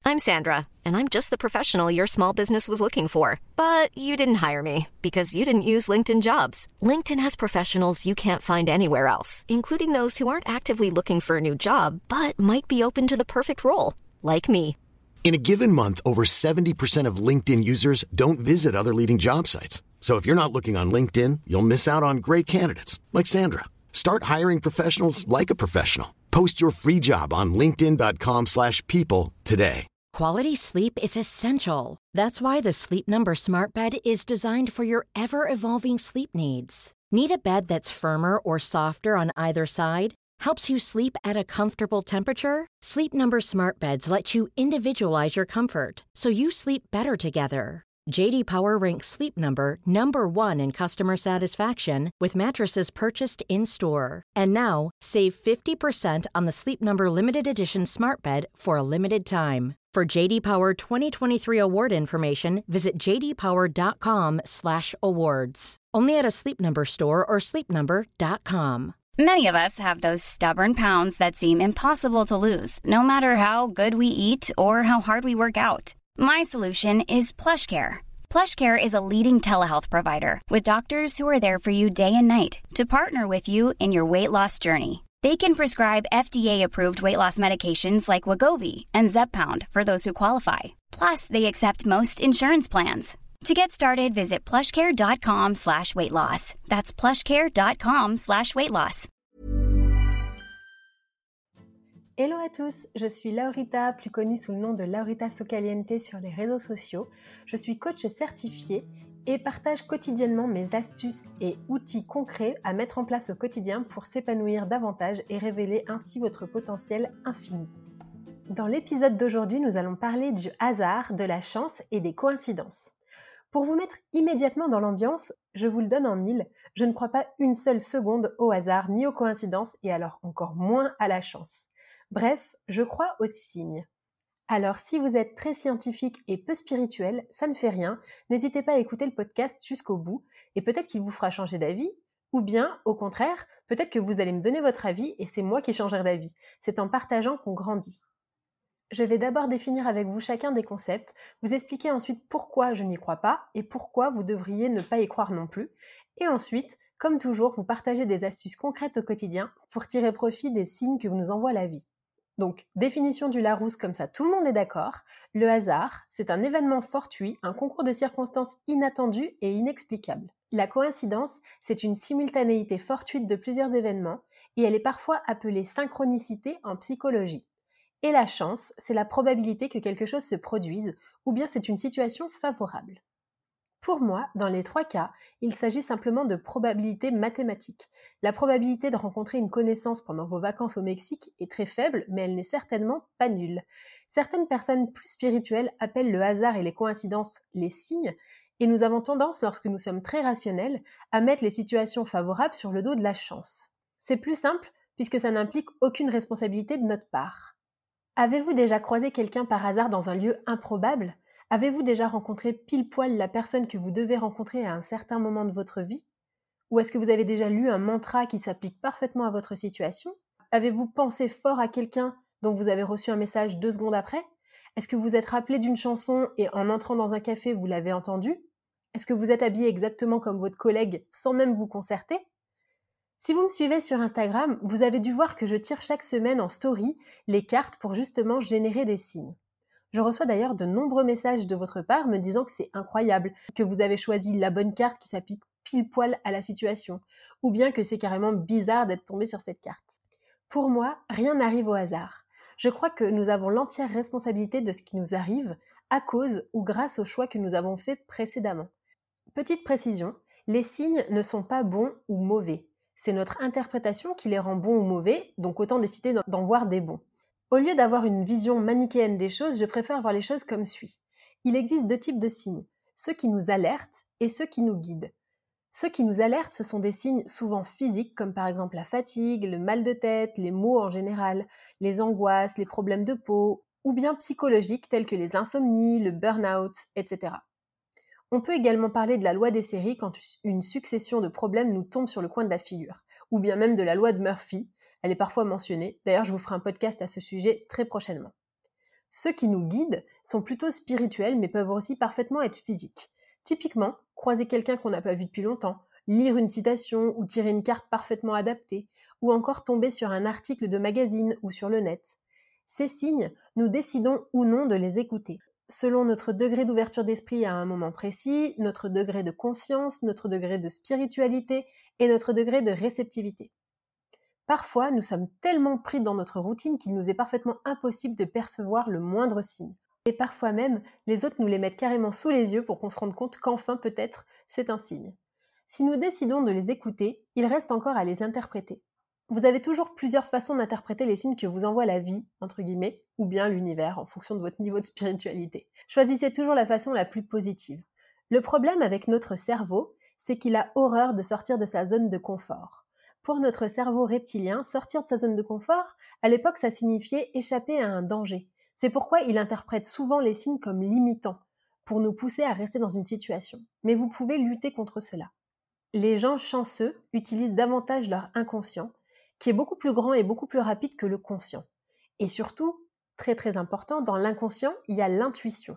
I'm Sandra, and I'm just the professional your small business was looking for. But you didn't hire me because you didn't use LinkedIn Jobs. LinkedIn has professionals you can't find anywhere else, including those who aren't actively looking for a new job, but might be open to the perfect role, like me. In a given month, over 70% of LinkedIn users don't visit other leading job sites. So if you're not looking on LinkedIn, you'll miss out on great candidates like Sandra. Start hiring professionals like a professional. Post your free job on linkedin.com/people today. Quality sleep is essential. That's why the Sleep Number Smart Bed is designed for your ever-evolving sleep needs. Need a bed that's firmer or softer on either side? Helps you sleep at a comfortable temperature? Sleep Number Smart Beds let you individualize your comfort so you sleep better together. J.D. Power ranks Sleep Number number one in customer satisfaction with mattresses purchased in-store. And now, save 50% on the Sleep Number Limited Edition Smart Bed for a limited time. For J.D. Power 2023 award information, visit jdpower.com/awards. Only at a Sleep Number store or sleepnumber.com. Many of us have those stubborn pounds that seem impossible to lose, no matter how good we eat or how hard we work out. My solution is PlushCare. PlushCare is a leading telehealth provider with doctors who are there for you day and night to partner with you in your weight loss journey. They can prescribe FDA-approved weight loss medications like Wegovy and Zepbound for those who qualify. Plus, they accept most insurance plans. To get started, visit plushcare.com/weightloss. That's plushcare.com/weightloss. Hello à tous, je suis Laurita, plus connue sous le nom de Laurita Socaliente sur les réseaux sociaux. Je suis coach certifiée et partage quotidiennement mes astuces et outils concrets à mettre en place au quotidien pour s'épanouir davantage et révéler ainsi votre potentiel infini. Dans l'épisode d'aujourd'hui, nous allons parler du hasard, de la chance et des coïncidences. Pour vous mettre immédiatement dans l'ambiance, je vous le donne en mille, je ne crois pas une seule seconde au hasard ni aux coïncidences et alors encore moins à la chance. Bref, je crois aux signes. Alors si vous êtes très scientifique et peu spirituel, ça ne fait rien, n'hésitez pas à écouter le podcast jusqu'au bout et peut-être qu'il vous fera changer d'avis, ou bien, au contraire, peut-être que vous allez me donner votre avis et c'est moi qui changerai d'avis. C'est en partageant qu'on grandit. Je vais d'abord définir avec vous chacun des concepts, vous expliquer ensuite pourquoi je n'y crois pas et pourquoi vous devriez ne pas y croire non plus, et ensuite, comme toujours, vous partager des astuces concrètes au quotidien pour tirer profit des signes que nous envoie la vie. Donc, définition du Larousse, comme ça tout le monde est d'accord. Le hasard, c'est un événement fortuit, un concours de circonstances inattendues et inexplicables. La coïncidence, c'est une simultanéité fortuite de plusieurs événements et elle est parfois appelée synchronicité en psychologie. Et la chance, c'est la probabilité que quelque chose se produise ou bien c'est une situation favorable. Pour moi, dans les trois cas, il s'agit simplement de probabilité mathématique. La probabilité de rencontrer une connaissance pendant vos vacances au Mexique est très faible, mais elle n'est certainement pas nulle. Certaines personnes plus spirituelles appellent le hasard et les coïncidences les signes, et nous avons tendance, lorsque nous sommes très rationnels, à mettre les situations favorables sur le dos de la chance. C'est plus simple, puisque ça n'implique aucune responsabilité de notre part. Avez-vous déjà croisé quelqu'un par hasard dans un lieu improbable ? Avez-vous déjà rencontré pile poil la personne que vous devez rencontrer à un certain moment de votre vie ? Ou est-ce que vous avez déjà lu un mantra qui s'applique parfaitement à votre situation ? Avez-vous pensé fort à quelqu'un dont vous avez reçu un message 2 secondes après ? Est-ce que vous êtes rappelé d'une chanson et en entrant dans un café, vous l'avez entendue ? Est-ce que vous êtes habillé exactement comme votre collègue sans même vous concerter ? Si vous me suivez sur Instagram, vous avez dû voir que je tire chaque semaine en story les cartes pour justement générer des signes. Je reçois d'ailleurs de nombreux messages de votre part me disant que c'est incroyable, que vous avez choisi la bonne carte qui s'applique pile poil à la situation, ou bien que c'est carrément bizarre d'être tombé sur cette carte. Pour moi, rien n'arrive au hasard. Je crois que nous avons l'entière responsabilité de ce qui nous arrive à cause ou grâce aux choix que nous avons faits précédemment. Petite précision, les signes ne sont pas bons ou mauvais. C'est notre interprétation qui les rend bons ou mauvais, donc autant décider d'en voir des bons. Au lieu d'avoir une vision manichéenne des choses, je préfère voir les choses comme suit. Il existe 2 types de signes, ceux qui nous alertent et ceux qui nous guident. Ceux qui nous alertent, ce sont des signes souvent physiques, comme par exemple la fatigue, le mal de tête, les maux en général, les angoisses, les problèmes de peau, ou bien psychologiques tels que les insomnies, le burn-out, etc. On peut également parler de la loi des séries quand une succession de problèmes nous tombe sur le coin de la figure, ou bien même de la loi de Murphy. Elle est parfois mentionnée. D'ailleurs, je vous ferai un podcast à ce sujet très prochainement. Ceux qui nous guident sont plutôt spirituels mais peuvent aussi parfaitement être physiques. Typiquement, croiser quelqu'un qu'on n'a pas vu depuis longtemps, lire une citation ou tirer une carte parfaitement adaptée, ou encore tomber sur un article de magazine ou sur le net. Ces signes, nous décidons ou non de les écouter. Selon notre degré d'ouverture d'esprit à un moment précis, notre degré de conscience, notre degré de spiritualité et notre degré de réceptivité. Parfois, nous sommes tellement pris dans notre routine qu'il nous est parfaitement impossible de percevoir le moindre signe. Et parfois même, les autres nous les mettent carrément sous les yeux pour qu'on se rende compte qu'enfin, peut-être, c'est un signe. Si nous décidons de les écouter, il reste encore à les interpréter. Vous avez toujours plusieurs façons d'interpréter les signes que vous envoie la vie, entre guillemets, ou bien l'univers, en fonction de votre niveau de spiritualité. Choisissez toujours la façon la plus positive. Le problème avec notre cerveau, c'est qu'il a horreur de sortir de sa zone de confort. Pour notre cerveau reptilien, sortir de sa zone de confort, à l'époque, ça signifiait échapper à un danger. C'est pourquoi il interprète souvent les signes comme limitants, pour nous pousser à rester dans une situation. Mais vous pouvez lutter contre cela. Les gens chanceux utilisent davantage leur inconscient, qui est beaucoup plus grand et beaucoup plus rapide que le conscient. Et surtout, très très important, dans l'inconscient, il y a l'intuition.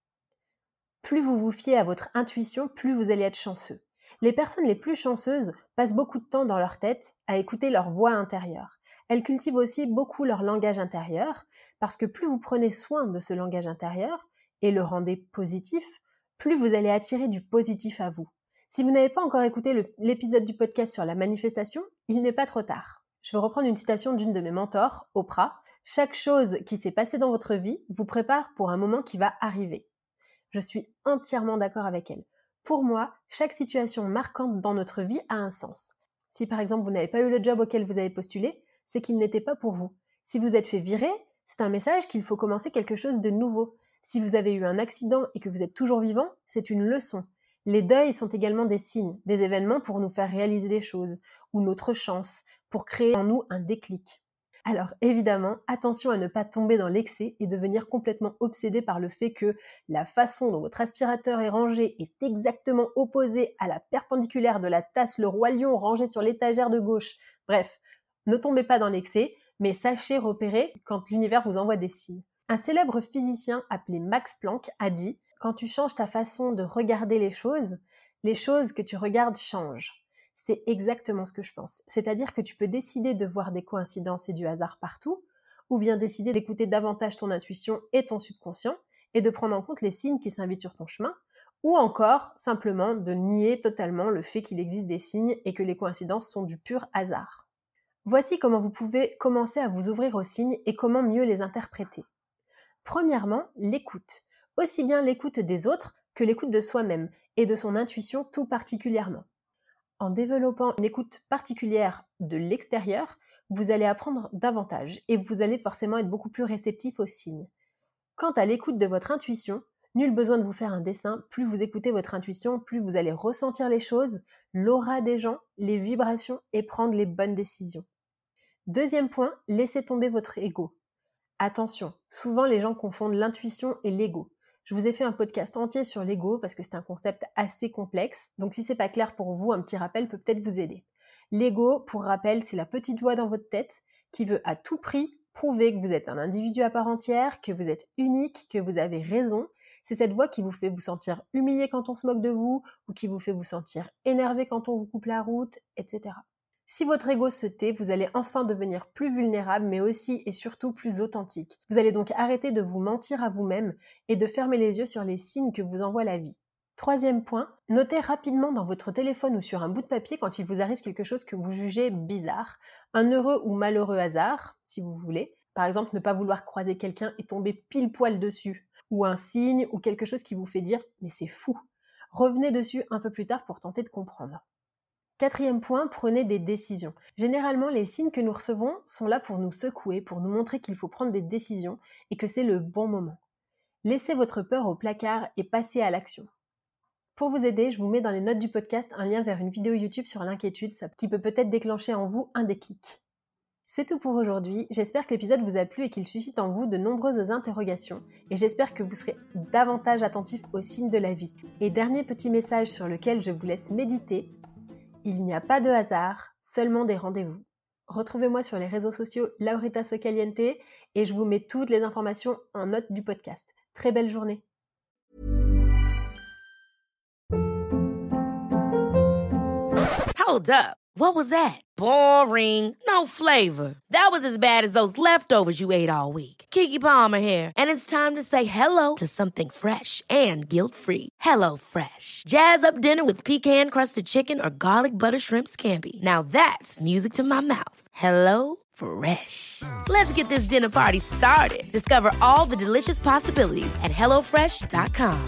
Plus vous vous fiez à votre intuition, plus vous allez être chanceux. Les personnes les plus chanceuses passent beaucoup de temps dans leur tête à écouter leur voix intérieure. Elles cultivent aussi beaucoup leur langage intérieur, parce que plus vous prenez soin de ce langage intérieur et le rendez positif, plus vous allez attirer du positif à vous. Si vous n'avez pas encore écouté l'épisode du podcast sur la manifestation, il n'est pas trop tard. Je vais reprendre une citation d'une de mes mentors, Oprah. « Chaque chose qui s'est passée dans votre vie vous prépare pour un moment qui va arriver. » Je suis entièrement d'accord avec elle. Pour moi, chaque situation marquante dans notre vie a un sens. Si par exemple vous n'avez pas eu le job auquel vous avez postulé, c'est qu'il n'était pas pour vous. Si vous êtes fait virer, c'est un message qu'il faut commencer quelque chose de nouveau. Si vous avez eu un accident et que vous êtes toujours vivant, c'est une leçon. Les deuils sont également des signes, des événements pour nous faire réaliser des choses, ou notre chance, pour créer en nous un déclic. Alors évidemment, attention à ne pas tomber dans l'excès et devenir complètement obsédé par le fait que la façon dont votre aspirateur est rangé est exactement opposée à la perpendiculaire de la tasse Le Roi Lion rangée sur l'étagère de gauche. Bref, ne tombez pas dans l'excès, mais sachez repérer quand l'univers vous envoie des signes. Un célèbre physicien appelé Max Planck a dit « Quand tu changes ta façon de regarder les choses que tu regardes changent. » C'est exactement ce que je pense. C'est-à-dire que tu peux décider de voir des coïncidences et du hasard partout, ou bien décider d'écouter davantage ton intuition et ton subconscient, et de prendre en compte les signes qui s'invitent sur ton chemin, ou encore simplement de nier totalement le fait qu'il existe des signes et que les coïncidences sont du pur hasard. Voici comment vous pouvez commencer à vous ouvrir aux signes et comment mieux les interpréter. Premièrement, l'écoute. Aussi bien l'écoute des autres que l'écoute de soi-même, et de son intuition tout particulièrement. En développant une écoute particulière de l'extérieur, vous allez apprendre davantage et vous allez forcément être beaucoup plus réceptif aux signes. Quant à l'écoute de votre intuition, nul besoin de vous faire un dessin, plus vous écoutez votre intuition, plus vous allez ressentir les choses, l'aura des gens, les vibrations et prendre les bonnes décisions. Deuxième point, laissez tomber votre ego. Attention, souvent les gens confondent l'intuition et l'ego. Je vous ai fait un podcast entier sur l'ego parce que c'est un concept assez complexe. Donc si c'est pas clair pour vous, un petit rappel peut peut-être vous aider. L'ego, pour rappel, c'est la petite voix dans votre tête qui veut à tout prix prouver que vous êtes un individu à part entière, que vous êtes unique, que vous avez raison. C'est cette voix qui vous fait vous sentir humilié quand on se moque de vous ou qui vous fait vous sentir énervé quand on vous coupe la route, etc. Si votre ego se tait, vous allez enfin devenir plus vulnérable, mais aussi et surtout plus authentique. Vous allez donc arrêter de vous mentir à vous-même et de fermer les yeux sur les signes que vous envoie la vie. Troisième point, notez rapidement dans votre téléphone ou sur un bout de papier quand il vous arrive quelque chose que vous jugez bizarre, un heureux ou malheureux hasard, si vous voulez. Par exemple, ne pas vouloir croiser quelqu'un et tomber pile poil dessus, ou un signe ou quelque chose qui vous fait dire « mais c'est fou ». Revenez dessus un peu plus tard pour tenter de comprendre. Quatrième point, prenez des décisions. Généralement, les signes que nous recevons sont là pour nous secouer, pour nous montrer qu'il faut prendre des décisions et que c'est le bon moment. Laissez votre peur au placard et passez à l'action. Pour vous aider, je vous mets dans les notes du podcast un lien vers une vidéo YouTube sur l'inquiétude, qui peut peut-être déclencher en vous un déclic. C'est tout pour aujourd'hui, j'espère que l'épisode vous a plu et qu'il suscite en vous de nombreuses interrogations et j'espère que vous serez davantage attentifs aux signes de la vie. Et dernier petit message sur lequel je vous laisse méditer, il n'y a pas de hasard, seulement des rendez-vous. Retrouvez-moi sur les réseaux sociaux Laurita Socaliente et je vous mets toutes les informations en note du podcast. Très belle journée. Hold up. What was that? Boring. No flavor. That was as bad as those leftovers you ate all week. Keke Palmer here, and it's time to say hello to something fresh and guilt-free. Hello Fresh. Jazz up dinner with pecan-crusted chicken or garlic butter shrimp scampi. Now that's music to my mouth. Hello Fresh. Let's get this dinner party started. Discover all the delicious possibilities at HelloFresh.com.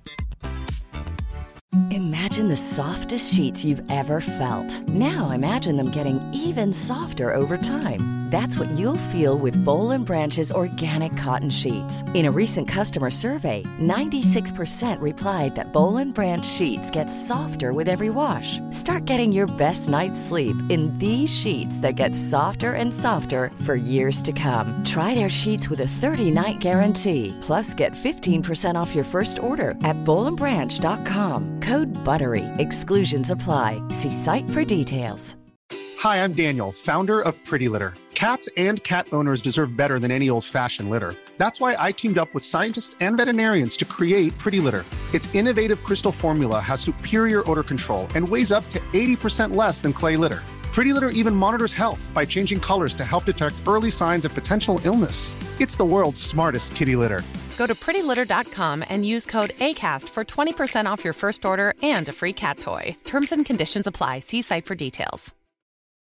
Imagine the softest sheets you've ever felt. Now imagine them getting even softer over time. That's what you'll feel with Boll & Branch's organic cotton sheets. In a recent customer survey, 96% replied that Boll & Branch sheets get softer with every wash. Start getting your best night's sleep in these sheets that get softer and softer for years to come. Try their sheets with a 30-night guarantee. Plus, get 15% off your first order at bollandbranch.com. Code BUTTERY. Exclusions apply. See site for details. Hi, I'm Daniel, founder of Pretty Litter. Cats and cat owners deserve better than any old-fashioned litter. That's why I teamed up with scientists and veterinarians to create Pretty Litter. Its innovative crystal formula has superior odor control and weighs up to 80% less than clay litter. Pretty Litter even monitors health by changing colors to help detect early signs of potential illness. It's the world's smartest kitty litter. Go to prettylitter.com and use code ACAST for 20% off your first order and a free cat toy. Terms and conditions apply. See site for details.